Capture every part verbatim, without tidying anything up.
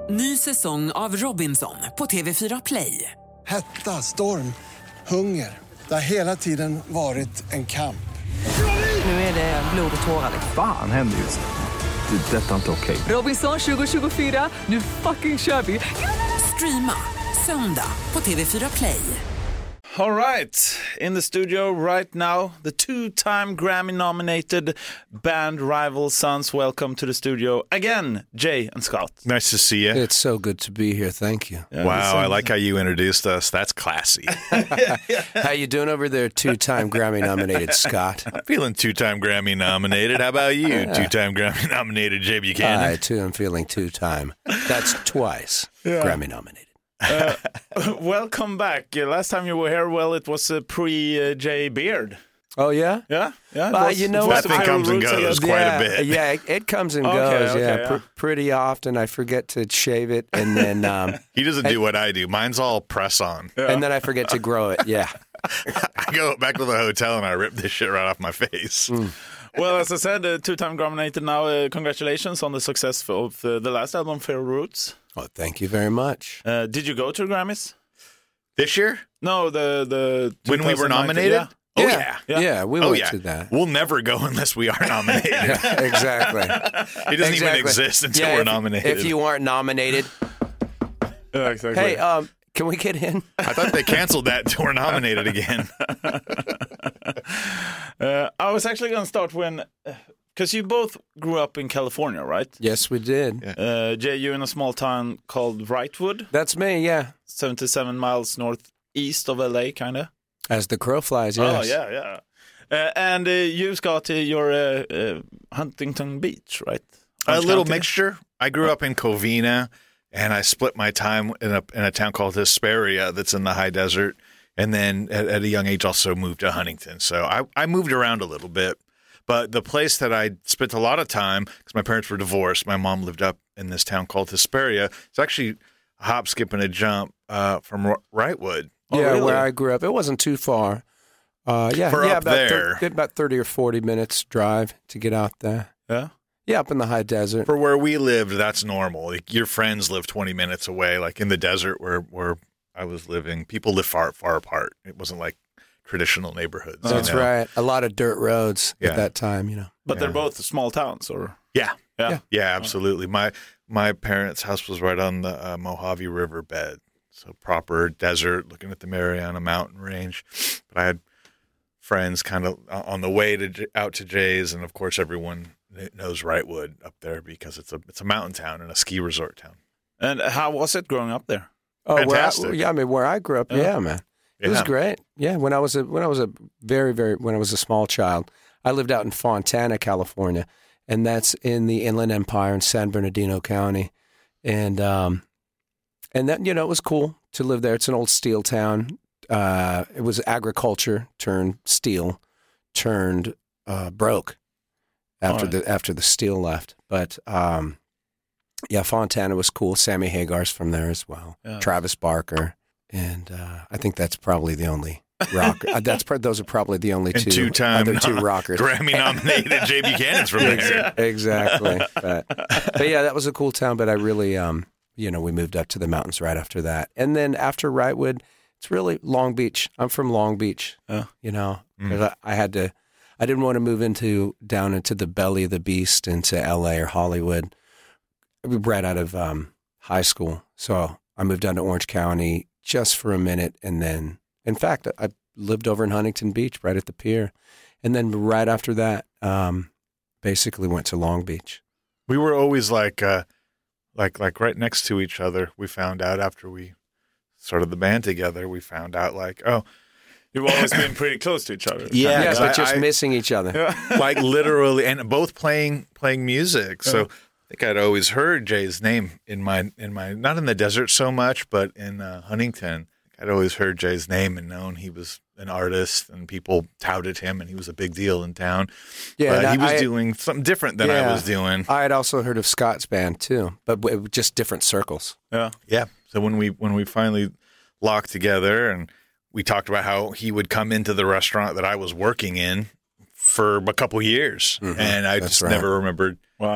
Ny säsong av Robinson på T V fyra Play. Hetta, storm, hunger. Det har hela tiden varit en kamp. Nu är det blod och tårar. Fan händer just det. Det är detta inte okej. Robinson tjugo tjugofyra, nu fucking kör vi. Streama söndag på T V fyra Play. All right, in the studio right now, the two-time Grammy-nominated band Rival Sons. Welcome to the studio again, Jay and Scott. Nice to see you. It's so good to be here. Thank you. Yeah, wow, I like how you introduced us. That's classy. How you doing over there, two-time Grammy-nominated Scott? I'm feeling two-time Grammy-nominated. How about you, two-time Grammy-nominated Jay Buchanan? I, too, am feeling two-time. That's twice Yeah. Grammy-nominated. Uh, welcome back. Uh, last time you were here, well, it was a pre-Jay Beard. Oh, yeah? Yeah, yeah. it Uh, was- you know it was what? the That thing Viral comes and Roots, I goes guess. quite yeah, a bit. Yeah, it, it comes and Okay, goes, okay, yeah, yeah. pr- pretty often. I forget to shave it, and then um, He doesn't do what I do. Mine's all press on. and then I forget to grow it, yeah. I go back to the hotel and I rip this shit right off my face. Well, as I said, uh, two-time Grammy-nominated now. Uh, congratulations on the success of uh, the last album, Viral Roots. Oh, thank you very much. Uh, did you go to the Grammys? This year? No, the the When we were twenty nineteen, nominated? yeah. Oh, yeah. yeah. Yeah. Yeah, we Oh, went yeah. to that. We'll never go unless we are nominated. Yeah, exactly. It doesn't even Exactly. exist until Yeah, we're if- nominated. If you aren't nominated, Yeah, exactly. hey, um, can we get in? I thought they canceled that until we're nominated again. uh, I was actually going to start when, because you both grew up in California, right? Yes, we did. Yeah. Uh, Jay, you in a small town called Wrightwood, That's me, yeah. seventy-seven miles northeast of L A, kind of. As the crow flies, yes. Oh, yeah, yeah. Uh, and uh, you, Scott, uh, you're uh, uh, Huntington Beach, right? A Orange little County? mixture. I grew up in Covina, and I split my time in a in a town called Hesperia that's in the high desert. And then at, at a young age, also moved to Huntington. So I, I moved around a little bit. But the place that I spent a lot of time, because my parents were divorced, my mom lived up in this town called Hesperia. It's actually a hop, skip, and a jump uh, from R- Wrightwood. Oh, yeah, really? where I grew up. It wasn't too far. Uh, yeah, For yeah, up about there. thir- about thirty or forty minutes drive to get out there. Yeah. Yeah, up in the high desert. For where we lived, that's normal. Like, your friends live twenty minutes away. Like in the desert where, where I was living, people live far, far apart. It wasn't like traditional neighborhoods. you That's know? right. A lot of dirt roads Yeah. at that time, you know. But Yeah. they're both small towns, or? Yeah. Yeah. Yeah. Yeah, absolutely. My my parents' house was right on the uh, Mojave River bed, so proper desert, looking at the Mariana Mountain Range. But I had friends kind of on the way to out to Jay's, and of course, everyone knows Wrightwood up there because it's a it's a mountain town and a ski resort town. And how was it growing up there? Oh, where I, Fantastic. yeah, I mean, where I grew up, Yeah. yeah, man. It was Yeah. great. Yeah, when I was a when I was a very very when I was a small child, I lived out in Fontana, California, and that's in the Inland Empire in San Bernardino County, and um, and that you know it was cool to live there. It's an old steel town. Uh, it was agriculture turned steel, turned uh, broke after Alright. the after the steel left. But um, yeah, Fontana was cool. Sammy Hagar's from there as well. Yeah. Travis Barker. And uh, I think that's probably the only rock. uh, that's pro- those are probably the only And two two-time other two no- rockers. Grammy nominated Jay Buchanan's from there. Exactly. But, but yeah, that was a cool town. But I really, um, you know, we moved up to the mountains right after that, and then after Wrightwood, it's really Long Beach. I'm from Long Beach. Yeah. You know, 'cause I, I had to. I didn't want to move into down into the belly of the beast into L A or Hollywood. Right out of um, high school, so I moved down to Orange County just for a minute, and then, in fact, I lived over in Huntington Beach, right at the pier, and then right after that, um, basically went to Long Beach. We were always like, uh, like, like right next to each other. We found out after we started the band together. We found out like, oh, You've always been pretty close to each other. Yeah, Yeah, 'cause but I- just I- missing each other. like literally, and both playing playing music. So I think I'd always heard Jay's name in my in my not in the desert so much, but in uh, Huntington. I'd always heard Jay's name and known he was an artist, and people touted him, and he was a big deal in town. Yeah, but and he was I- doing something different than I Yeah. was doing. I had also heard of Scott's band too, but w- just different circles. Yeah. Yeah. So when we when we finally locked together, and we talked about how he would come into the restaurant that I was working in for a couple years, Mhm. and I That's just right. never remembered Wow.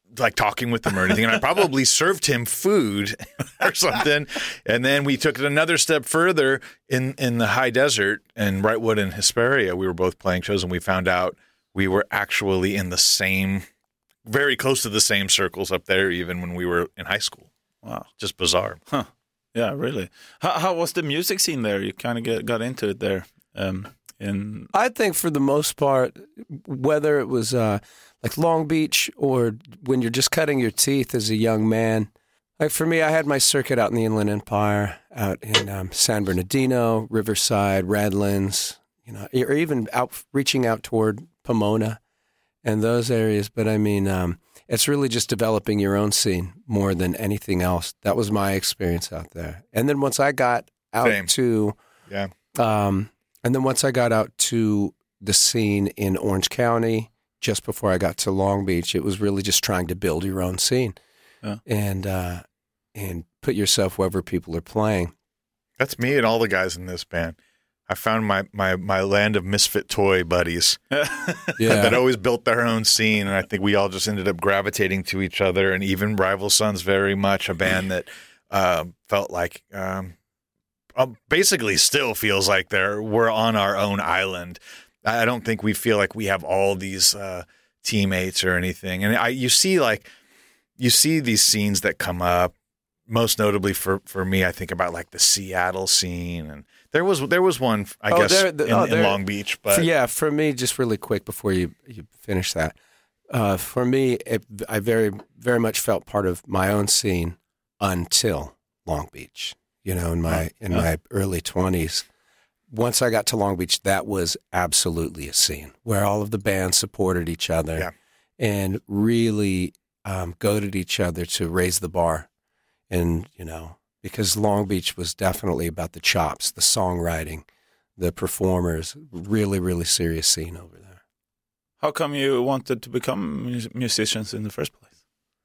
like talking with him or anything. And I probably served him food or something. And then we took it another step further in, in the high desert in Wrightwood and Hesperia. We were both playing shows, and we found out we were actually in the same, very close to the same circles up there, even when we were in high school. Wow. Just bizarre. Huh. Yeah, really. How, how was the music scene there? You kind of get got into it there. Um, in I think for the most part, whether it was uh, like Long Beach or when you're just cutting your teeth as a young man, like for me, I had my circuit out in the Inland Empire, out in um, San Bernardino, Riverside, Redlands, you know, or even out reaching out toward Pomona and those areas. But I mean, um, it's really just developing your own scene more than anything else. That was my experience out there. And then once I got out Same. to, Yeah. um, and then once I got out to the scene in Orange County, just before I got to Long Beach, it was really just trying to build your own scene Yeah. and uh, and put yourself wherever people are playing. That's me and all the guys in this band. I found my, my, my land of misfit toy buddies that Yeah, always built their own scene, and I think we all just ended up gravitating to each other. And even Rival Sons, very much a band that uh, felt like, um, uh, basically, still feels like they're we're on our own island. I don't think we feel like we have all these uh, teammates or anything. And I, you see, like you see these scenes that come up. Most notably for, for me, I think about like the Seattle scene, and there was there was one I Oh, guess there- the- in, oh, in there- Long Beach, but For- yeah. For me, just really quick before you you finish that, uh, for me, it, I very very much felt part of my own scene until Long Beach. You know, in my in Yeah. my early twenties. Once I got to Long Beach, that was absolutely a scene where all of the bands supported each other Yeah. and really um, goaded each other to raise the bar. And, you know, because Long Beach was definitely about the chops, the songwriting, the performers, really, really serious scene over there. how come you wanted to become mus- musicians in the first place?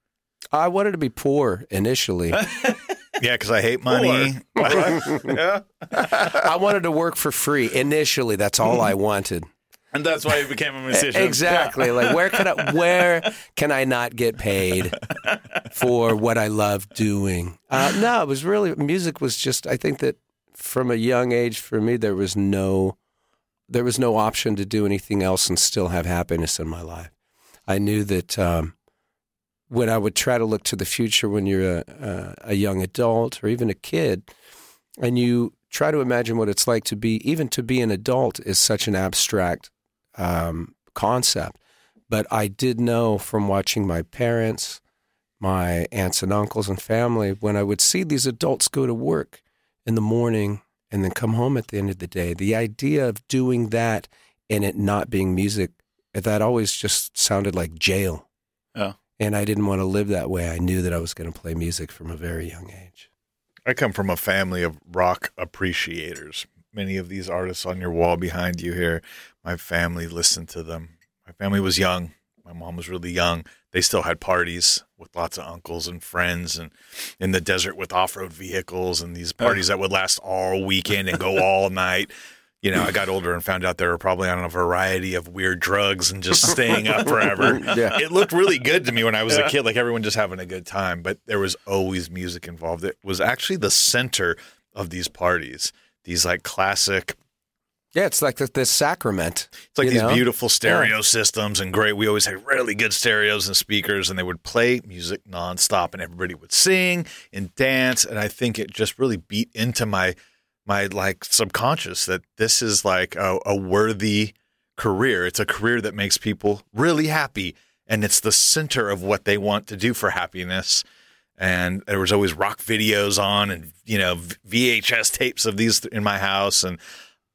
I wanted to be poor initially. yeah, because I hate money. Yeah, I wanted to work for free initially. That's all I wanted. and that's why you became a musician. Exactly. Like where can I where can I not get paid for what I love doing? Uh, no, it was really music was just. I think that from a young age, for me, there was no there was no option to do anything else and still have happiness in my life. I knew that um, when I would try to look to the future, when you're a, a, a young adult or even a kid, and you try to imagine what it's like to be, even to be an adult is such an abstract um, concept. But I did know from watching my parents, my aunts and uncles and family, when I would see these adults go to work in the morning and then come home at the end of the day, the idea of doing that and it not being music, that always just sounded like jail. Yeah. And I didn't want to live that way. I knew that I was going to play music from a very young age. I come from a family of rock appreciators. Many of these artists on your wall behind you here, my family listened to them. My family was young. My mom was really young. They still had parties with lots of uncles and friends, and in the desert with off-road vehicles, and these parties that would last all weekend and go all night. You know, I got older and found out they were probably on a variety of weird drugs and just staying up forever. Yeah. It looked really good to me when I was a kid, like everyone just having a good time, but there was always music involved. It was actually the center of these parties, these like classic, Yeah, it's like the, the sacrament. it's like you these know? beautiful stereo systems and great. We always had really good stereos and speakers, and they would play music nonstop, and everybody would sing and dance. And I think it just really beat into my my like subconscious that this is like a, a worthy career. It's a career that makes people really happy, and it's the center of what they want to do for happiness. And there was always rock videos on, and you know V H S tapes of these in my house, and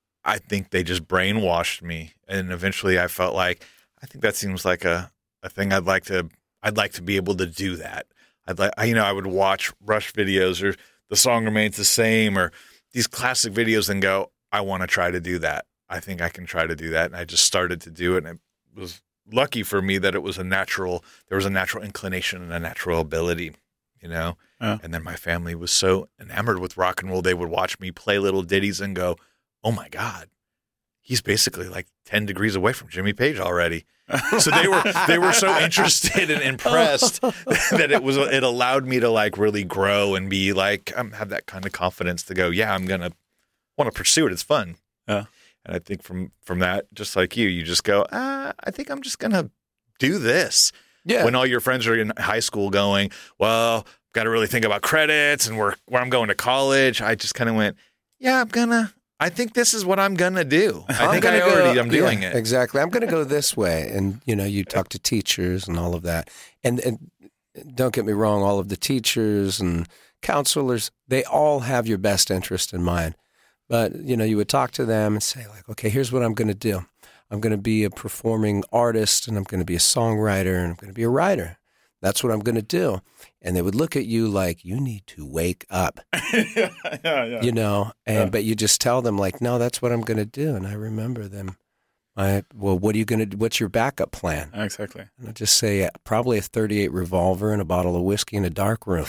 I think they just brainwashed me. And eventually, I felt like I think that seems like a, a thing I'd like to I'd like to be able to do that. I'd like you know I would watch Rush videos or The Song Remains the Same or these classic videos and go, I want to try to do that. I think I can try to do that. And I just started to do it. And it was lucky for me that it was a natural, there was a natural inclination and a natural ability, you know? Yeah. And then my family was so enamored with rock and roll. They would watch me play little ditties and go, oh my God, he's basically like ten degrees away from Jimmy Page already. So they were they were so interested and impressed that it was it allowed me to like really grow and be like um, have that kind of confidence to go, yeah, I'm gonna want to pursue it. It's fun. Yeah. And I think from from that, just like you, you just go, ah, I think I'm just gonna do this. Yeah. When all your friends are in high school going, well, got to really think about credits and where where I'm going to college. I just kind of went, yeah, I'm gonna. I think this is what I'm gonna do. I I'm think I gonna already go- I'm doing yeah, it. Exactly. I'm going to go this way. And, you know, you talk to teachers and all of that. And, and don't get me wrong, all of the teachers and counselors, they all have your best interest in mind. But, you know, you would talk to them and say, like, okay, here's what I'm going to do. I'm going to be a performing artist, and I'm going to be a songwriter, and I'm going to be a writer. That's what I'm going to do. And they would look at you like, you need to wake up. yeah, yeah. You know, and Yeah. but you just tell them like, no, that's what I'm going to do. And I remember them. I well, what are you going to do? What's your backup plan? Exactly. And I just say uh, probably a thirty-eight revolver and a bottle of whiskey in a dark room.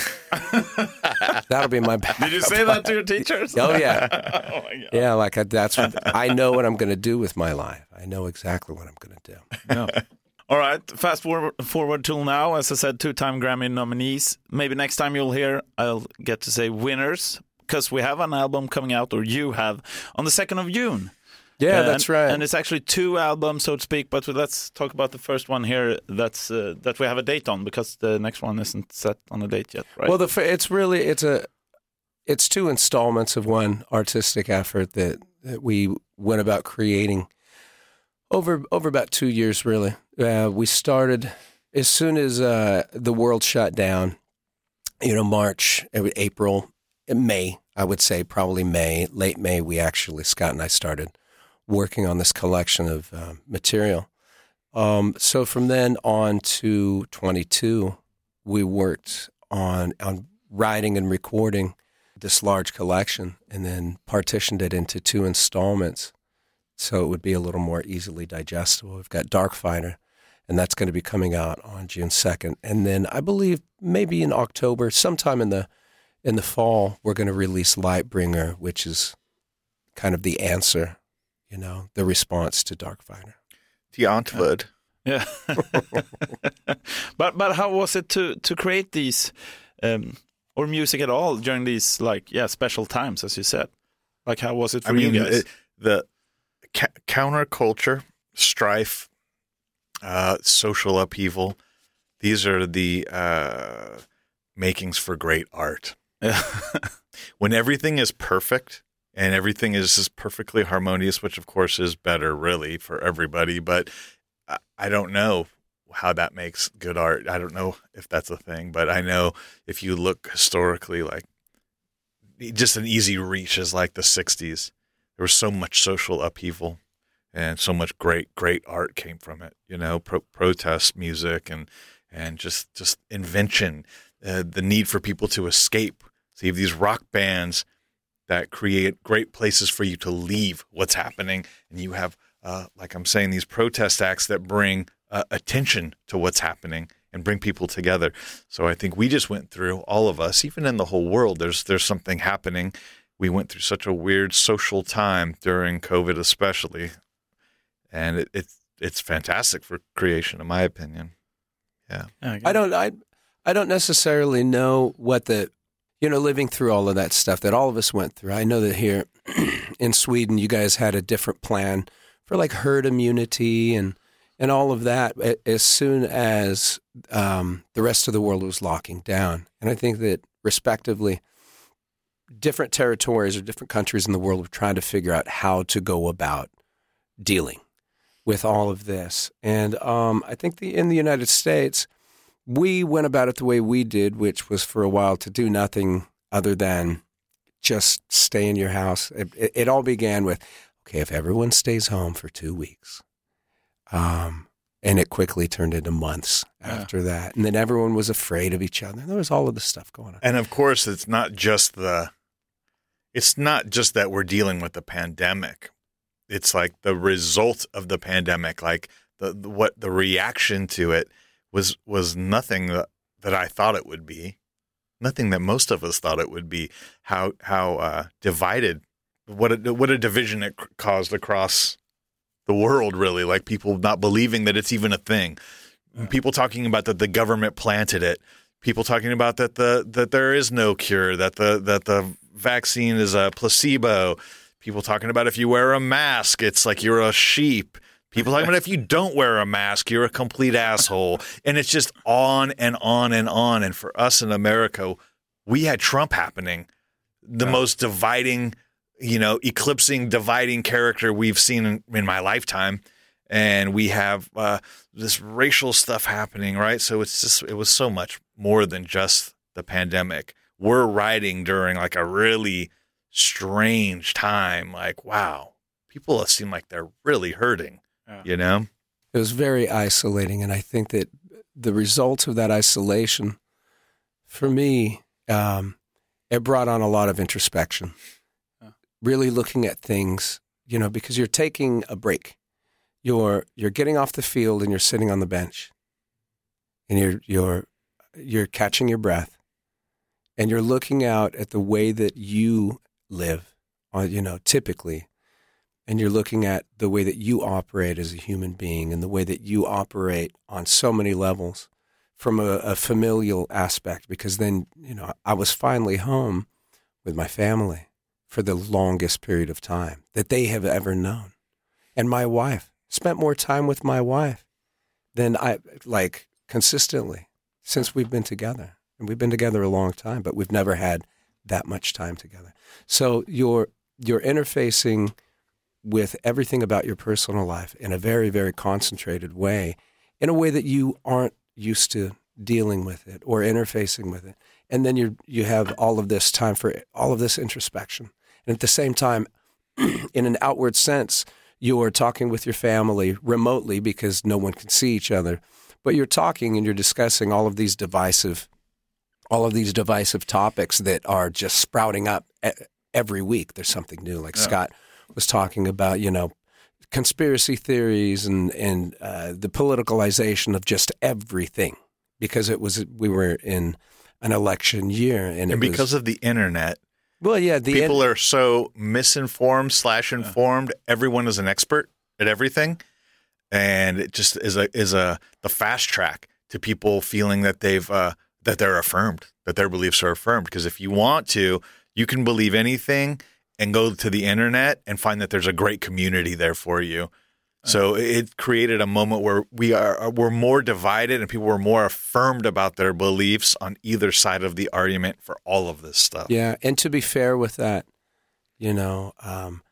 That'll be my backup. Did you say that to your teachers? Oh yeah, Oh my god. yeah. Like I, that's what I know what I'm going to do with my life. I know exactly what I'm going to do. No. All right, fast forward, forward till now. As I said, two-time Grammy nominees. Maybe next time you'll hear, I'll get to say winners, because we have an album coming out, or you have, on the second of June. Yeah, Uh, that's and, right. And it's actually two albums, so to speak. But let's talk about the first one here. That's uh, that we have a date on, because the next one isn't set on a date yet, right? Well, the fir- it's really it's a it's two installments of one artistic effort that, that we went about creating over over about two years. Really, uh, we started as soon as uh, the world shut down. You know, March, April, May. I would say probably May, late May. We actually Scott and I started working on this collection of uh, material. Um, so from then on to twenty-two, we worked on on writing and recording this large collection, and then partitioned it into two installments, so it would be a little more easily digestible. We've got Darkfighter, and that's going to be coming out on June second, and then I believe maybe in October, sometime in the in the fall, we're going to release Lightbringer, which is kind of the answer. You know, the response to Darkfighter. The Antwoord. yeah. but but how was it to to create these, um, or music at all during these like yeah special times, as you said? Like how was it for I mean, you guys? it, the ca- counterculture, strife, uh, social upheaval. These are the uh, makings for great art. Yeah. When everything is perfect and everything is just perfectly harmonious, which of course is better really for everybody, but I, I don't know how that makes good art. I don't know if that's a thing, but I know if you look historically, like just an easy reach is like the sixties. There was so much social upheaval and so much great, great art came from it, you know, pro- protest music and, and just, just invention, uh, the need for people to escape. So you have these rock bands that create great places for you to leave what's happening. And you have, uh, like I'm saying, these protest acts that bring uh, attention to what's happening and bring people together. So I think we just went through, all of us, even in the whole world, there's there's something happening. We went through such a weird social time during COVID especially. And it, it's it's fantastic for creation, in my opinion. Yeah. Yeah, I don't I I don't necessarily know what the you know living through all of that stuff that all of us went through. I know that here in Sweden you guys had a different plan for like herd immunity and and all of that as soon as um, the rest of the world was locking down. And I think that respectively different territories or different countries in the world were trying to figure out how to go about dealing with all of this. And um, I think the in the United States, we went about it the way we did, which was for a while to do nothing other than just stay in your house. It, it, it all began with, okay, if everyone stays home for two weeks, um, and it quickly turned into months Yeah. after that. And then everyone was afraid of each other. There was all of this stuff going on. And of course, it's not just the, it's not just that we're dealing with the pandemic. It's like the result of the pandemic, like the, the what the reaction to it was was nothing that, that I thought it would be, nothing that most of us thought it would be. How how uh, divided, what a, what a division it caused across the world, really, like people not believing that it's even a thing. Yeah. People talking about that the government planted it. People talking about that the that there is no cure, that the that the vaccine is a placebo. People talking about if you wear a mask, it's like you're a sheep. People talking about if you don't wear a mask, you're a complete asshole. And it's just on and on and on. And for us in America, we had Trump happening, the yeah. most dividing, you know, eclipsing, dividing character we've seen in, in my lifetime. And we have uh, this racial stuff happening, right? So it's just, it was so much more than just the pandemic. We're riding during like a really strange time. Like, wow, people seem like they're really hurting, yeah. you know? It was very isolating. And I think that the results of that isolation, for me, um, it brought on a lot of introspection, yeah. really looking at things, you know, because you're taking a break. You're you're getting off the field and you're sitting on the bench, and you're you're you're catching your breath, and you're looking out at the way that you live, or, you know, typically, and you're looking at the way that you operate as a human being and the way that you operate on so many levels, from a, a familial aspect. Because then, you know, I was finally home with my family for the longest period of time that they have ever known, and my wife. Spent more time with my wife than I, like, consistently since we've been together. And we've been together a long time, but we've never had that much time together. So you're, you're interfacing with everything about your personal life in a very, very concentrated way, in a way that you aren't used to dealing with it or interfacing with it. And then you you have all of this time for all of this introspection. And at the same time, in an outward sense, you're talking with your family remotely because no one can see each other, but you're talking and you're discussing all of these divisive, all of these divisive topics that are just sprouting up every week. There's something new. Like yeah. Scott was talking about, you know, conspiracy theories and and uh, the politicalization of just everything, because it was we were in an election year, and, and it because was, of the internet. Well, yeah, the people en- are so misinformed slash informed. Yeah. Everyone is an expert at everything, and it just is a is a the fast track to people feeling that they've uh, that they're affirmed, that their beliefs are affirmed. Because if you want to, you can believe anything and go to the internet and find that there's a great community there for you. So it created a moment where we are we're more divided and people were more affirmed about their beliefs on either side of the argument for all of this stuff. Yeah, and to be fair with that, you know, um,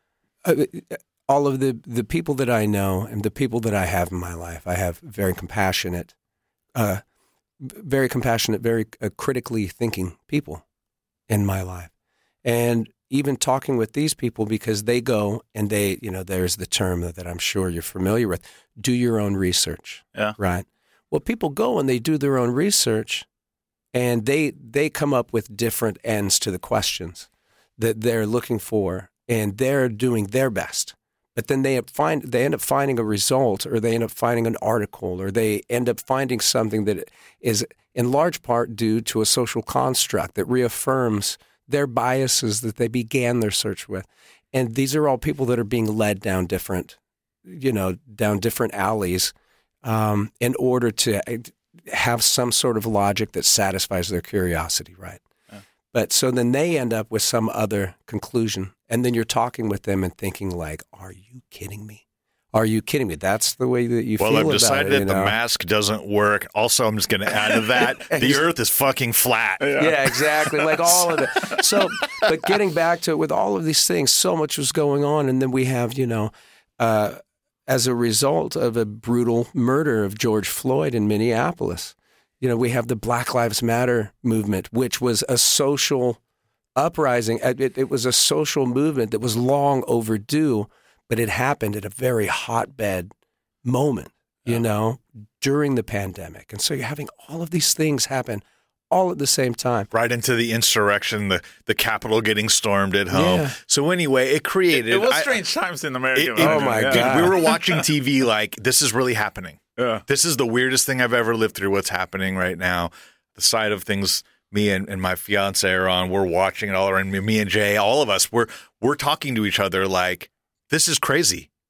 all of the, the people that I know and the people that I have in my life, I have very compassionate, uh, very compassionate, very uh, critically thinking people in my life. And even talking with these people, because they go and they, you know, there's the term that I'm sure you're familiar with, do your own research. Yeah. Right. Well, people go and they do their own research, and they they come up with different ends to the questions that they're looking for, and they're doing their best. But then they find they end up finding a result, or they end up finding an article, or they end up finding something that is in large part due to a social construct that reaffirms their biases that they began their search with. And these are all people that are being led down different, you know, down different alleys um, in order to have some sort of logic that satisfies their curiosity, right? Yeah. But so then they end up with some other conclusion. And then you're talking with them and thinking like, are you kidding me? Are you kidding me? That's the way that you well, feel I've about it. Well, I've decided you that know? the mask doesn't work. Also, I'm just going to add to that, the earth is fucking flat. Yeah, yeah exactly. Like all of it. So, but getting back to it, with all of these things, so much was going on. And then we have, you know, uh, as a result of a brutal murder of George Floyd in Minneapolis, you know, we have the Black Lives Matter movement, which was a social uprising. It, it was a social movement that was long overdue, but it happened at a very hotbed moment, you yeah. know, during the pandemic. And so you're having all of these things happen all at the same time. Right into the insurrection, the, the Capitol getting stormed at home. Yeah. So anyway, it created... It, it was I, strange times in America. It, it, oh, my dude, God. We were watching T V like, this is really happening. Yeah. This is the weirdest thing I've ever lived through, what's happening right now. The side of things me and, and my fiance are on, we're watching it all around. Me and Jay, all of us, we're we're talking to each other like, this is crazy.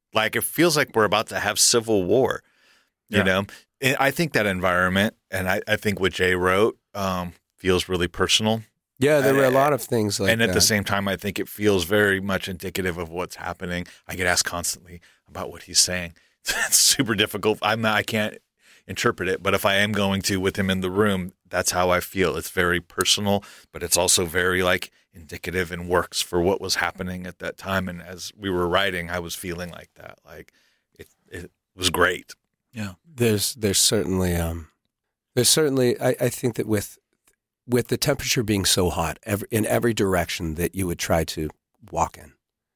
Like it feels like we're about to have civil war, you Yeah. know? And I think that environment, and I, I think what Jay wrote um, feels really personal. Yeah, there were a Uh, lot of things like and at that. the same time, I think it feels very much indicative of what's happening. I get asked constantly about what he's saying. It's super difficult. I'm not, I can't interpret it, but if I am going to with him in the room, that's how I feel. It's very personal, but it's also very like indicative and works for what was happening at that time. And as we were writing, I was feeling like that. Like it, it was great. Yeah. There's there's certainly um, there's certainly I, I think that with with the temperature being so hot every, in every direction that you would try to walk in,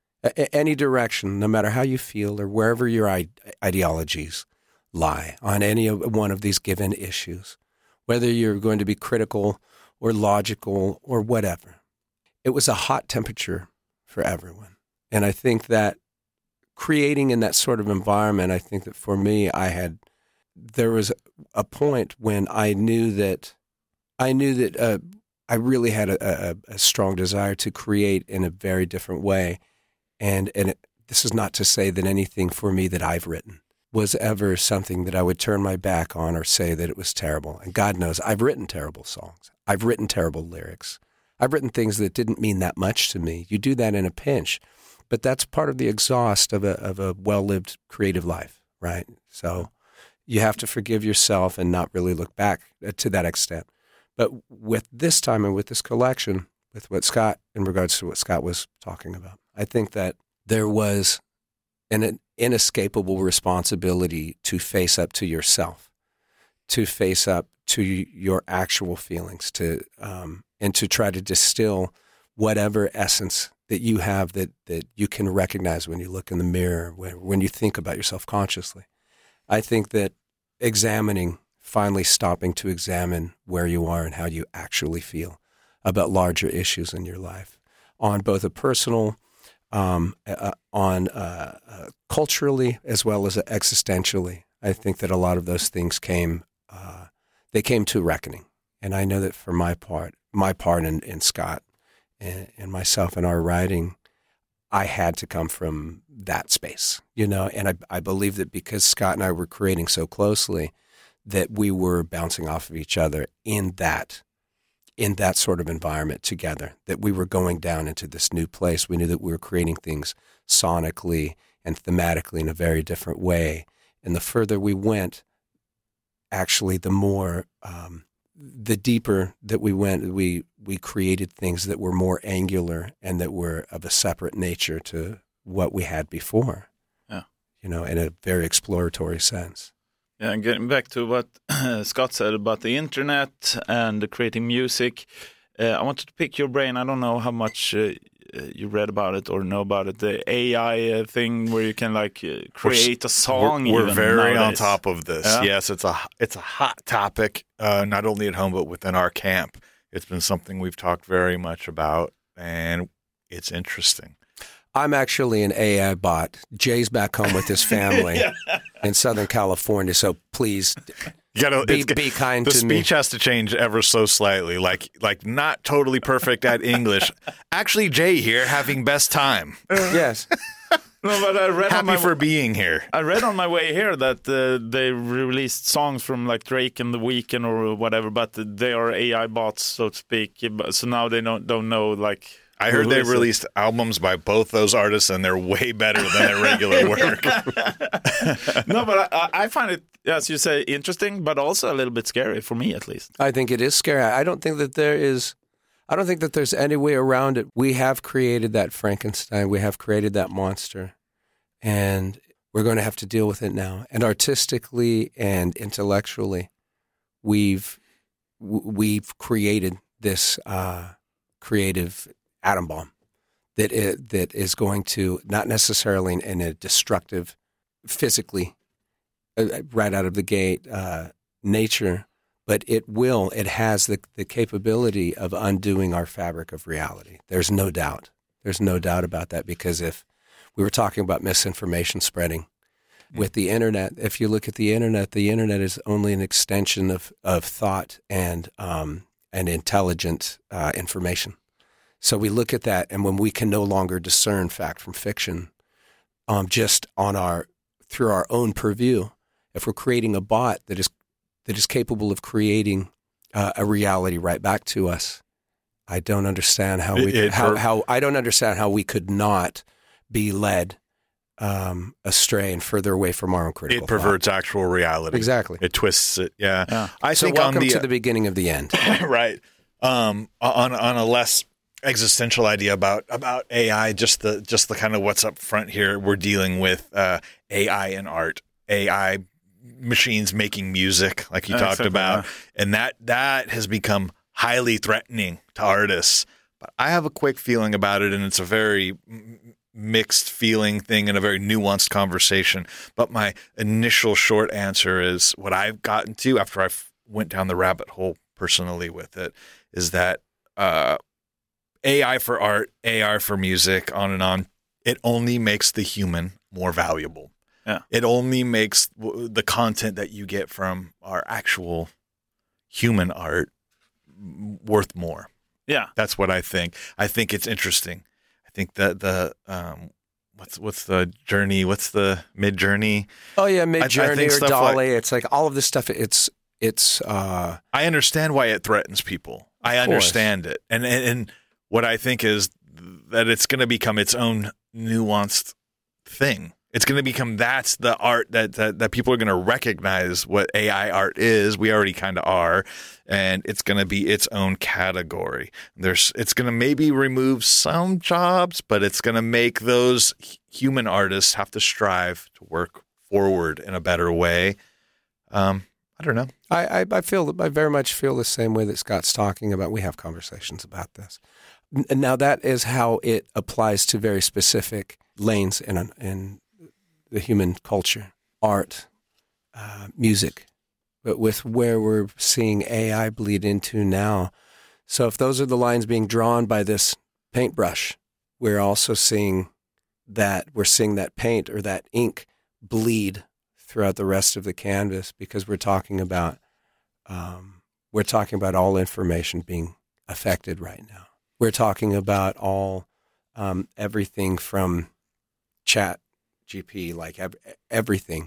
A- any direction, no matter how you feel or wherever your I- ideologies lie on any of one of these given issues, whether you're going to be critical or logical or whatever, it was a hot temperature for everyone, and I think that. Creating in that sort of environment, I think that for me, I had, there was a point when I knew that, I knew that uh, I really had a, a, a strong desire to create in a very different way. And, and it, this is not to say that anything for me that I've written was ever something that I would turn my back on or say that it was terrible. And God knows I've written terrible songs. I've written terrible lyrics. I've written things that didn't mean that much to me. You do that in a pinch. But that's part of the exhaust of a of a well-lived creative life, right? So you have to forgive yourself and not really look back to that extent. But with this time and with this collection, with what Scott, in regards to what Scott was talking about, I think that there was an inescapable responsibility to face up to yourself, to face up to your actual feelings, to um, and to try to distill whatever essence that you have that, that you can recognize when you look in the mirror, when, when you think about yourself consciously. I think that examining, finally stopping to examine where you are and how you actually feel about larger issues in your life on both a personal, um, uh, on uh, uh, culturally as well as existentially. I think that a lot of those things came, uh, they came to reckoning. And I know that for my part, my part in, in Scott, and myself in our writing, I had to come from that space, you know, and I, I believe that because Scott and I were creating so closely that we were bouncing off of each other in that, in that sort of environment together, that we were going down into this new place. We knew that we were creating things sonically and thematically in a very different way. And the further we went, actually, the more, um, the deeper that we went, we we created things that were more angular and that were of a separate nature to what we had before. Yeah, you know, in a very exploratory sense. Yeah, and getting back to what Scott said about the internet and creating music, uh, I wanted to pick your brain. I don't know how much uh, you read about it or know about it. The A I uh, thing where you can like uh, create a song. We're, we're even very nowadays. on top of this. Yeah? Yes, it's a it's a hot topic, uh, not only at home but within our camp. It's been something we've talked very much about, and it's interesting. I'm actually an A I bot. Jay's back home with his family yeah. in Southern California, so please you gotta, be, be kind the to me. The speech has to change ever so slightly, like like not totally perfect at English. Actually, Jay here having best time. Yes. No, but I read Happy on my, for being here. I read on my way here that uh, they released songs from like Drake and The Weeknd or whatever, but they are A I bots, so to speak. So now they don't don't know like. I heard they released albums by both those artists, and they're way better than their regular work. No, but I, I find it, as you say, interesting, but also a little bit scary for me, at least. I think it is scary. I don't think that there is. I don't think that there's any way around it. We have created that Frankenstein. We have created that monster, and we're going to have to deal with it now. And artistically and intellectually, we've we've created this uh, creative atom bomb that is, that is going to, not necessarily in, in a destructive, physically, uh, right out of the gate uh, nature, but it will, it has the, the capability of undoing our fabric of reality. There's no doubt. There's no doubt about that, because if we were talking about misinformation spreading mm-hmm. with the internet, if you look at the internet, the internet is only an extension of, of thought and, um, and intelligent uh, information. So we look at that, and when we can no longer discern fact from fiction, um, just on our through our own purview, if we're creating a bot that is that is capable of creating uh, a reality right back to us, I don't understand how we It- it how, per- how I don't understand how we could not be led um, astray and further away from our own critical It perverts actual reality. thought. Exactly. It twists it. Yeah. Yeah. I So think welcome on the, to the beginning of the end. right. Um, on on a less existential idea about about A I, just the just the kind of what's up front here. We're dealing with uh, A I and art, A I machines making music, like you Uh, talked exactly, about, yeah. and that that has become highly threatening to artists. But I have a quick feeling about it, and it's a very m- mixed feeling thing and a very nuanced conversation. But my initial short answer is what I've gotten to after I f- went down the rabbit hole personally with it is that uh, A I for art, A I for music, on and on, it only makes the human more valuable. Yeah. It only makes w- the content that you get from our actual human art m- worth more. Yeah. That's what I think. I think it's interesting. I think that the um, what's what's the journey? What's the mid journey? Oh yeah, I Mid Journey think or stuff Dolly. like- it's like all of this stuff. It's it's uh, I understand why it threatens people. I Of course. understand it, and, and and what I think is that it's going to become its own nuanced thing. It's going to become that's the art that that, that people are going to recognize what A I art is. We already kind of are, and it's going to be its own category. There's it's going to maybe remove some jobs, but it's going to make those h- human artists have to strive to work forward in a better way. Um, I don't know. I, I, I feel I very much feel the same way that Scott's talking about. We have conversations about this. N- Now that is how it applies to very specific lanes in in the human culture, art, uh, music, but with where we're seeing A I bleed into now. So if those are the lines being drawn by this paintbrush, we're also seeing that we're seeing that paint or that ink bleed throughout the rest of the canvas, because we're talking about um, we're talking about all information being affected right now. We're talking about all um, everything from chat G P, like ev- everything.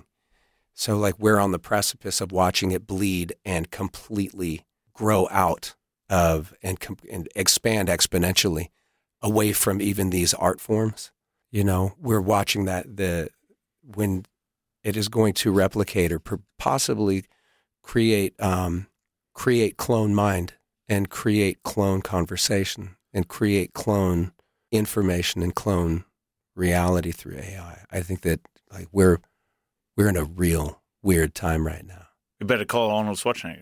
So like we're on the precipice of watching it bleed and completely grow out of and, com- and expand exponentially away from even these art forms. You know, we're watching that the when it is going to replicate or per- possibly create um, create clone mind and create clone conversation and create clone information and clone reality through A I. I think that like we're we're in a real weird time right now. You better call Arnold Schwarzenegger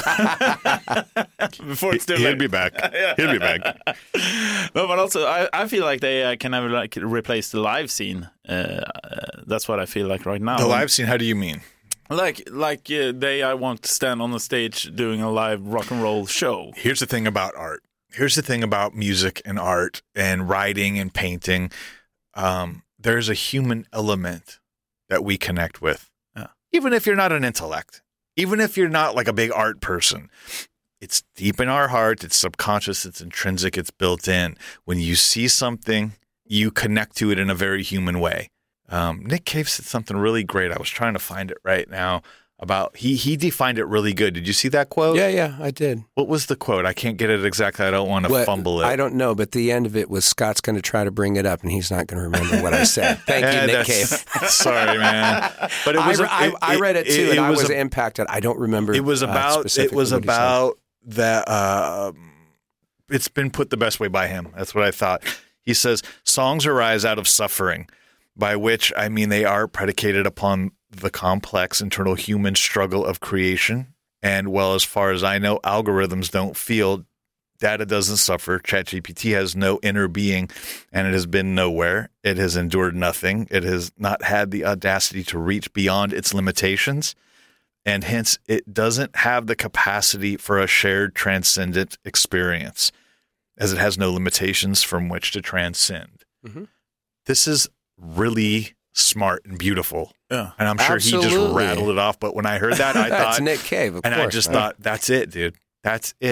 before it's too He'll late. be back. He'll be back. No, but also I, I feel like they uh, can never like replace the live scene. Uh, uh, that's what I feel like right now. The live scene, how do you mean? like like uh, they I want to stand on the stage doing a live rock and roll show. Here's the thing about art. Here's the thing about music and art and writing and painting. Um, there's a human element that we connect with. Yeah. Even if you're not an intellect, even if you're not like a big art person, it's deep in our heart. It's subconscious. It's intrinsic. It's built in. When you see something, you connect to it in a very human way. Um, Nick Cave said something really great. I was trying to find it right now about he he defined it really good. Did you see that quote? Yeah, yeah, I did. What was the quote? I can't get it exactly. I don't want to What- fumble it. I don't know, but the end of it was Scott's going to try to bring it up, and he's not going to remember what I said. Thank Eh, you, Nick that's- Cave. Sorry, man. But it I, was. re- I, I read it too, and I was a- impacted. I don't remember. It was uh, about. It specifically was what he said. about that. Uh, it's been put the best way by him. That's what I thought. He says songs arise out of suffering, by which I mean they are predicated upon the complex internal human struggle of creation. And well, as far as I know, algorithms don't feel. Data doesn't suffer. ChatGPT has no inner being, and it has been nowhere. It has endured nothing. It has not had the audacity to reach beyond its limitations, and hence it doesn't have the capacity for a shared transcendent experience, as it has no limitations from which to transcend. Mhm. This is really smart and beautiful, Yeah. and I'm sure he just Absolutely. rattled it off. But when I heard that, I That's thought, Nick Cave, of and course. I just right? thought, that's it, dude. That's it.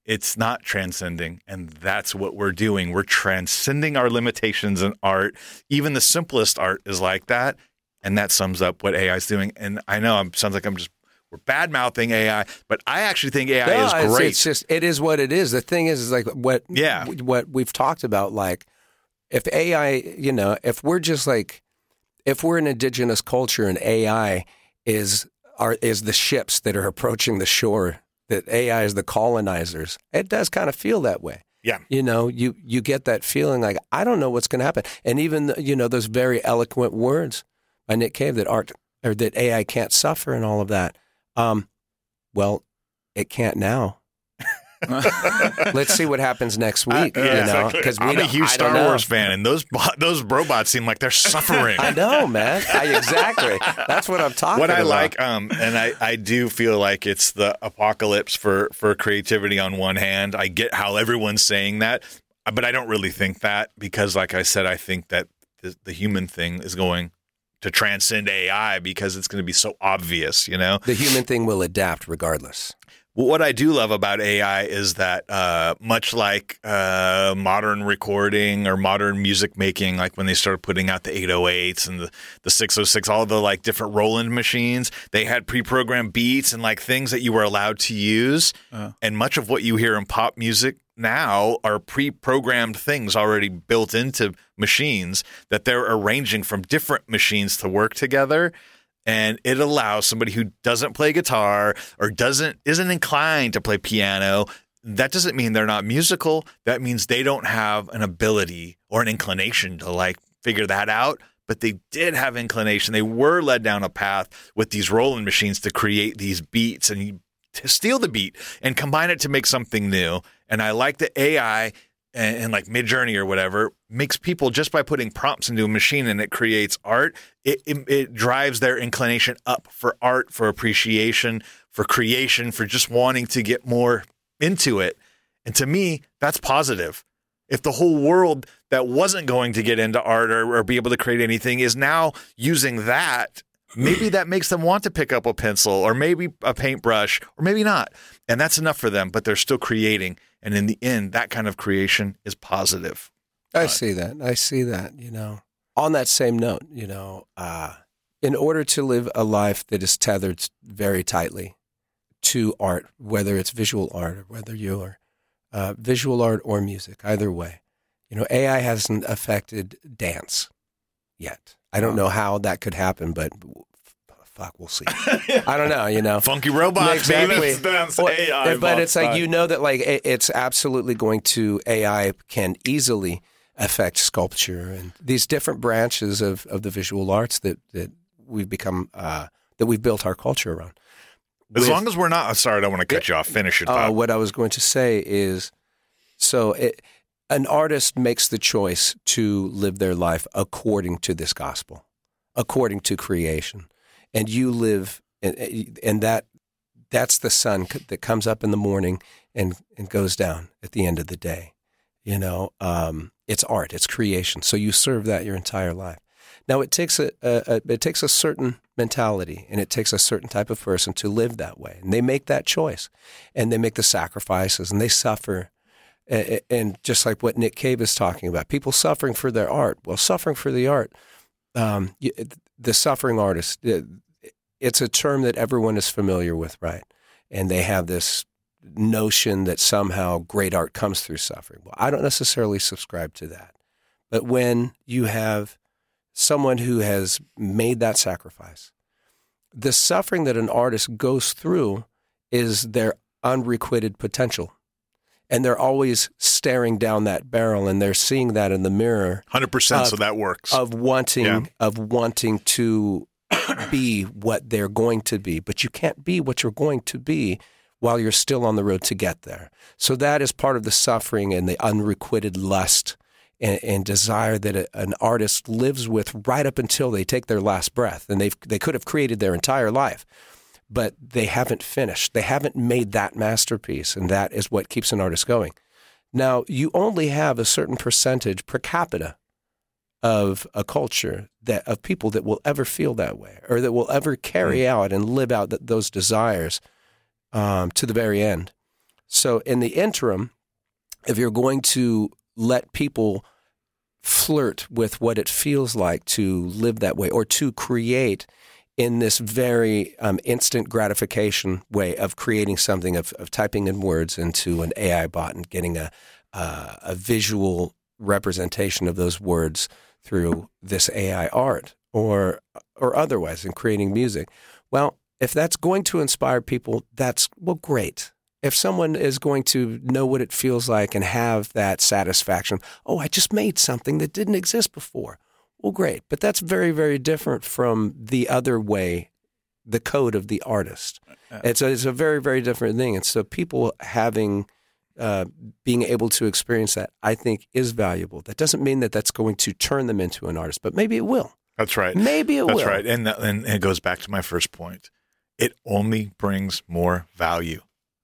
it's not transcending. And that's what we're doing. We're transcending our limitations in art. Even the simplest art is like that. And that sums up what A I is doing. And I know it sounds like I'm just, we're bad mouthing A I, but I actually think A I no, is it's, great. It's just, it is what it is. The thing is, is like what, Yeah. what we've talked about, like if A I, you know, if we're just like, if we're an indigenous culture and A I is, are, is the ships that are approaching the shore, that A I is the colonizers, it does kind of feel that way. Yeah. You know, you, you get that feeling like, I don't know what's going to happen. And even, you know, those very eloquent words by Nick Cave that art or that A I can't suffer and all of that. Um, well, it can't now. Let's see what happens next week. Uh, you yeah, know, exactly. we I'm a huge I don't Star know. Wars fan, and those bo- those robots seem like they're suffering. I know, man. I, exactly. That's what I'm talking What I about. like, um, and I, I do feel like it's the apocalypse for, for creativity on one hand. I get how everyone's saying that, but I don't really think that because, like I said, I think that the, the human thing is going to transcend A I because it's going to be so obvious, you know? The human thing will adapt regardless. Well, what I do love about A I is that uh, much like uh, modern recording or modern music making, like when they started putting out the eight oh eights and the, the six oh six, all the like different Roland machines, they had pre-programmed beats and like things that you were allowed to use. Uh. And much of what you hear in pop music now are pre-programmed things already built into machines that they're arranging from different machines to work together. And it allows somebody who doesn't play guitar or doesn't isn't inclined to play piano. That doesn't mean they're not musical. That means they don't have an ability or an inclination to like figure that out. But they did have inclination. They were led down a path with these Roland machines to create these beats and to steal the beat and combine it to make something new. And I like that A I and, and like Midjourney or whatever makes people just by putting prompts into a machine and it creates art. It, it, it drives their inclination up for art, for appreciation, for creation, for just wanting to get more into it. And to me, that's positive. If the whole world that wasn't going to get into art or, or be able to create anything is now using that, maybe that makes them want to pick up a pencil or maybe a paintbrush or maybe not. And that's enough for them, but they're still creating. And in the end, that kind of creation is positive. I see that. I see that, you know. On that same note, you know, uh, in order to live a life that is tethered very tightly to art, whether it's visual art or whether you're uh, visual art or music, either way, you know, A I hasn't affected dance yet. I don't know how that could happen, but fuck, we'll see. I don't know, you know. Funky robots, exactly. baby. Dance Well, A I but it's like, style. you know that like it, it's absolutely going to, A I can easily affect sculpture and these different branches of, of the visual arts that, that we've become, uh, that we've built our culture around. As With- long as we're not, sorry, I don't want to cut you off. Finish your Uh, thought. what I was going to say is, so it, an artist makes the choice to live their life according to this gospel, according to creation, and you live, and, and that that's the sun that comes up in the morning and, and goes down at the end of the day. You know, um, it's art, it's creation. So you serve that your entire life. Now it takes a, a, a it takes a certain mentality and it takes a certain type of person to live that way, and they make that choice, and they make the sacrifices and they suffer. And, and just like what Nick Cave is talking about, people suffering for their art. Well, suffering for the art, um, you, the suffering artist, it, it's a term that everyone is familiar with, right? And they have this notion that somehow great art comes through suffering. Well, I don't necessarily subscribe to that. But when you have someone who has made that sacrifice, the suffering that an artist goes through is their unrequited potential. And they're always staring down that barrel, and they're seeing that in the mirror. one hundred percent, of, so that works. Of wanting, Yeah. of wanting to be what they're going to be. But you can't be what you're going to be while you're still on the road to get there. So that is part of the suffering and the unrequited lust and, and desire that a, an artist lives with right up until they take their last breath. And they've they could have created their entire life, but they haven't finished. They haven't made that masterpiece, and that is what keeps an artist going. Now, you only have a certain percentage per capita of a culture that of people that will ever feel that way, or that will ever carry mm. out and live out that, those desires um, to the very end. So in the interim, if you're going to let people flirt with what it feels like to live that way or to create in this very um, instant gratification way of creating something, of, of typing in words into an A I bot and getting a, uh, a visual representation of those words through this A I art or or otherwise in creating music. Well, if that's going to inspire people, that's, well, great. If someone is going to know what it feels like and have that satisfaction, oh, I just made something that didn't exist before. Well, great. But that's very, very different from the other way, the code of the artist. It's a, it's a very, very different thing. And so people having, uh, being able to experience that, I think, is valuable. That doesn't mean that that's going to turn them into an artist, but maybe it will. That's right. Maybe it That's will. That's right. And, and it goes back to my first point. It only brings more value.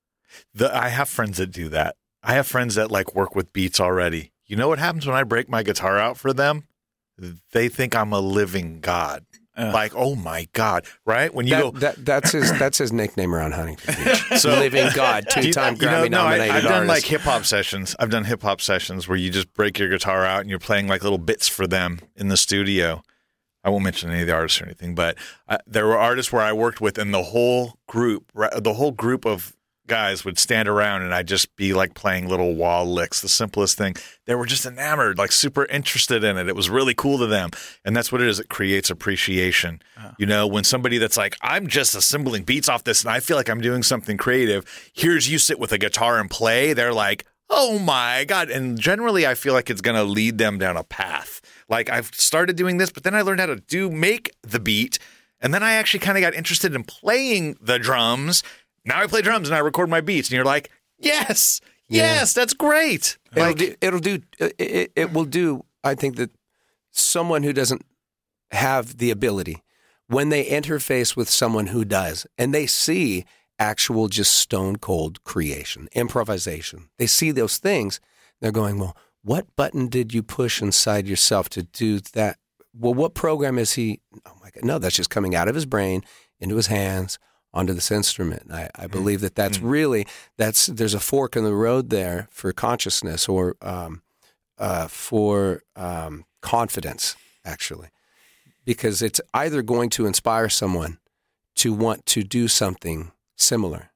The, I have friends that do that. I have friends that like work with beats already. You know what happens when I break my guitar out for them? They think I'm a living god. Uh, like, oh my God, right? When you that, go, that, that's his that's his nickname around Huntington Beach. So living god, two-time you know, Grammy no, nominated I, I've done artist. like hip hop sessions. I've done hip hop sessions where you just break your guitar out and you're playing like little bits for them in the studio. I won't mention any of the artists or anything, but uh, there were artists where I worked with, and the whole group, the whole group of guys would stand around, and I'd just be like playing little wall licks, the simplest thing. They were just enamored, like super interested in it. It was really cool to them, and that's what it is. It creates appreciation. Uh-huh. You know, when somebody that's like, I'm just assembling beats off this, and I feel like I'm doing something creative. Here's you sit with a guitar and play. They're like, oh my God. And generally, I feel like it's going to lead them down a path. Like, I've started doing this, but then I learned how to do make the beat, and then I actually kind of got interested in playing the drums. Now I play drums and I record my beats, and you're like, yes, yes, yeah. That's great. It'll Like, do, it'll do, it, it will do, I think, that someone who doesn't have the ability, when they interface with someone who does, and they see actual just stone cold creation, improvisation, they see those things, they're going, well, what button did you push inside yourself to do that? Well, what program is he? Oh my God, no, that's just coming out of his brain into his hands onto this instrument. And I, I believe that that's really, that's, there's a fork in the road there for consciousness or um, uh, for um, confidence, actually, because it's either going to inspire someone to want to do something similar,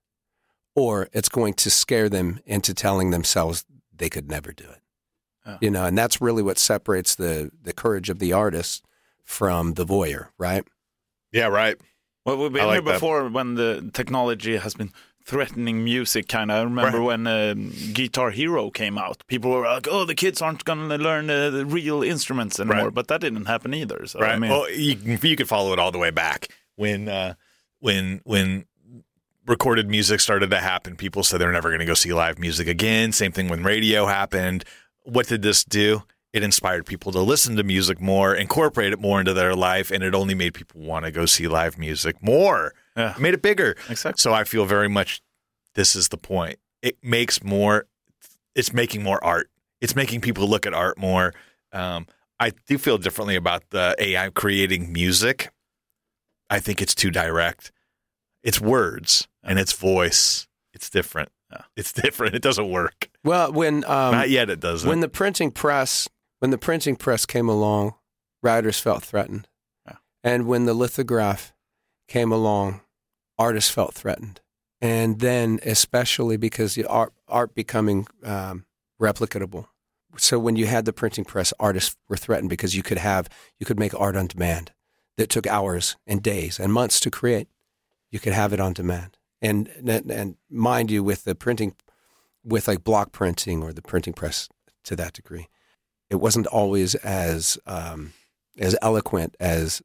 or it's going to scare them into telling themselves they could never do it. Oh. You know, and that's really what separates the, the courage of the artist from the voyeur, right? Yeah, right. Well, we've been I like here before that. when the technology has been threatening music, kind of. I remember Right. when uh, Guitar Hero came out. People were like, oh, the kids aren't going to learn uh, the real instruments anymore. Right. But that didn't happen either. So, Right. I mean, well, you, you could follow it all the way back when uh, when when recorded music started to happen. People said they're never going to go see live music again. Same thing when radio happened. What did this do? It inspired people to listen to music more, incorporate it more into their life, and it only made people want to go see live music more. Yeah. It made it bigger. Exactly. So I feel very much this is the point. It makes more. It's making more art. It's making people look at art more. Um, I do feel differently about the A I creating music. I think it's too direct. It's words and it's voice. It's different. It's different. It doesn't work. Well, when um, Not yet. It doesn't. when the printing press when the printing press came along, writers felt threatened, Yeah. and when the lithograph came along, artists felt threatened, and then especially because the art art becoming um, replicatable. So when you had the printing press, artists were threatened because you could have you could make art on demand that took hours and days and months to create. You could have it on demand. And, and and mind you, with the printing, with like block printing or the printing press to that degree, it wasn't always as um, as eloquent as,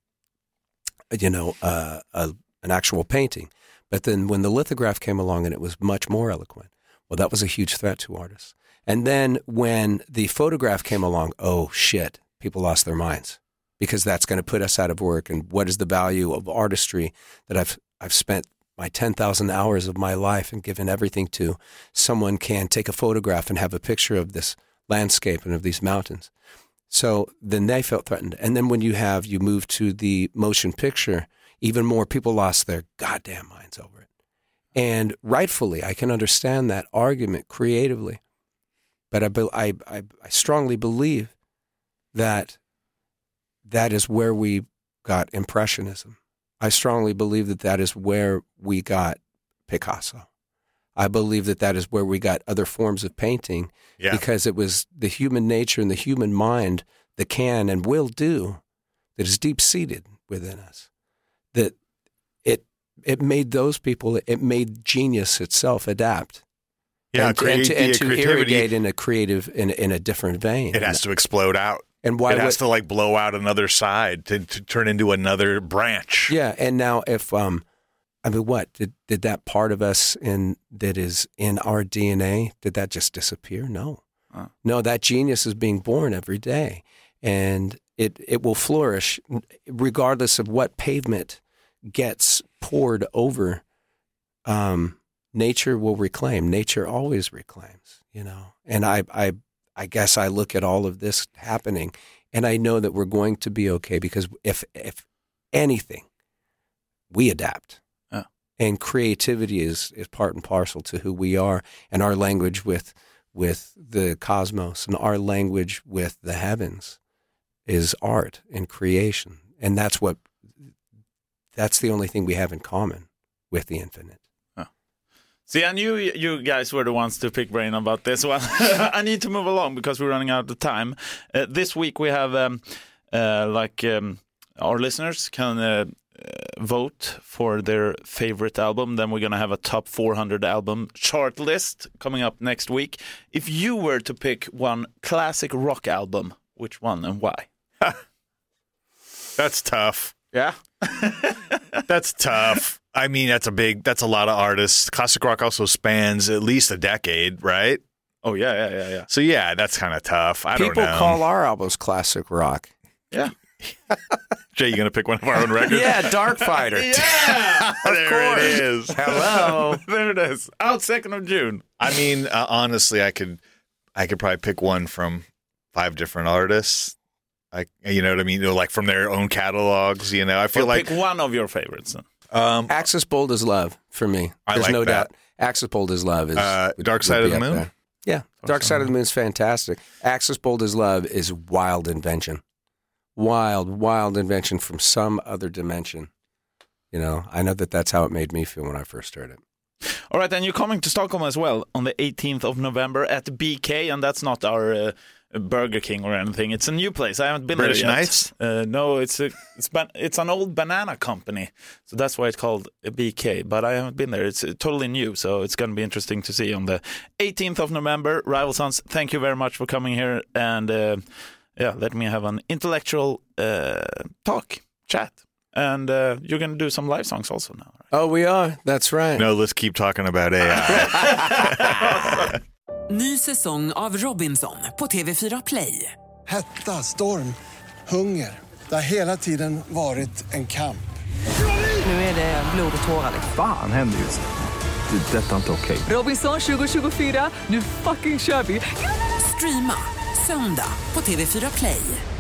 you know, uh, a, an actual painting. But then when the lithograph came along and it was much more eloquent, well, that was a huge threat to artists. And then when the photograph came along, oh shit, people lost their minds because that's going to put us out of work. And what is the value of artistry that I've I've spent my ten thousand hours of my life and given everything to? Someone can take a photograph and have a picture of this landscape and of these mountains. So then they felt threatened. And then when you have, you move to the motion picture, even more people lost their goddamn minds over it. And rightfully, I can understand that argument creatively. But I, be- I, I, I strongly believe that that is where we got Impressionism. I strongly believe that that is where we got Picasso. I believe that that is where we got other forms of painting Yeah. because it was the human nature and the human mind that can and will do, that is deep-seated within us, that it it made those people, it made genius itself adapt. Yeah, and, create and to, and the to creativity. irrigate in a creative, in, in a different vein. It has to explode out. And why it has would- to like blow out another side to, to turn into another branch. Yeah, and now if um, I mean, what did did that part of us in that is in our D N A? Did that just disappear? No, Oh. no. That genius is being born every day, and it it will flourish regardless of what pavement gets poured over. Um, nature will reclaim. Nature always reclaims, you know. And I I I guess I look at all of this happening, and I know that we're going to be okay because if if anything, we adapt. Yeah. And creativity is, is part and parcel to who we are, and our language with with the cosmos and our language with the heavens is art and creation. And that's what that's the only thing we have in common with the infinite. See, I knew you guys were the ones to pick brain about this one. I need to move along because we're running out of time. Uh, this week we have, um, uh, like, um, our listeners can uh, uh, vote for their favorite album. Then we're going to have a top four hundred album chart list coming up next week. If you were to pick one classic rock album, which one and why? That's tough. Yeah. That's tough. I mean, that's a big, that's a lot of artists. Classic rock also spans at least a decade, right? Oh, yeah, yeah, yeah, yeah. So, yeah, that's kind of tough. I People don't know. call our albums classic rock. Yeah. Jay, you going to pick one of our own records? Yeah, Dark Fighter. Yeah, there it is. Hello. there it is. Out second of June. I mean, uh, honestly, I could, I could probably pick one from five different artists. I, you know what I mean? You know, like from their own catalogs. You know, I feel Well, like pick one of your favorites. Then. um, Axis Bold as Love for me. I There's like no that. doubt. Axis Bold as Love is Uh, would- Dark would Side of be the up Moon? there. Yeah, Dark Side of the Moon is fantastic. Axis Bold as Love is wild invention. Wild, wild invention from some other dimension. You know, I know that that's how it made me feel when I first heard it. All right, and you're coming to Stockholm as well on the eighteenth of November at B K, and that's not our uh, Burger King or anything. It's a new place. I haven't been British there yet. Knights? Uh, no, it's a it's ban- it's an old banana company, so that's why it's called a B K. But I haven't been there. It's uh, totally new, so it's going to be interesting to see on the eighteenth of November. Rival Sons, thank you very much for coming here and uh, yeah, let me have an intellectual uh, talk, chat, and uh, you're going to do some live songs also now. Right? Oh, we are. That's right. no, let's keep talking about A I. Ny säsong av Robinson på T V fyra Play. Hetta, storm, hunger. Det har hela tiden varit en kamp. Nu är det blod och tårar. Fan händer just det. Det är detta inte okej. Robinson tjugo tjugofyra, nu fucking kör vi! Streama söndag på T V fyra Play.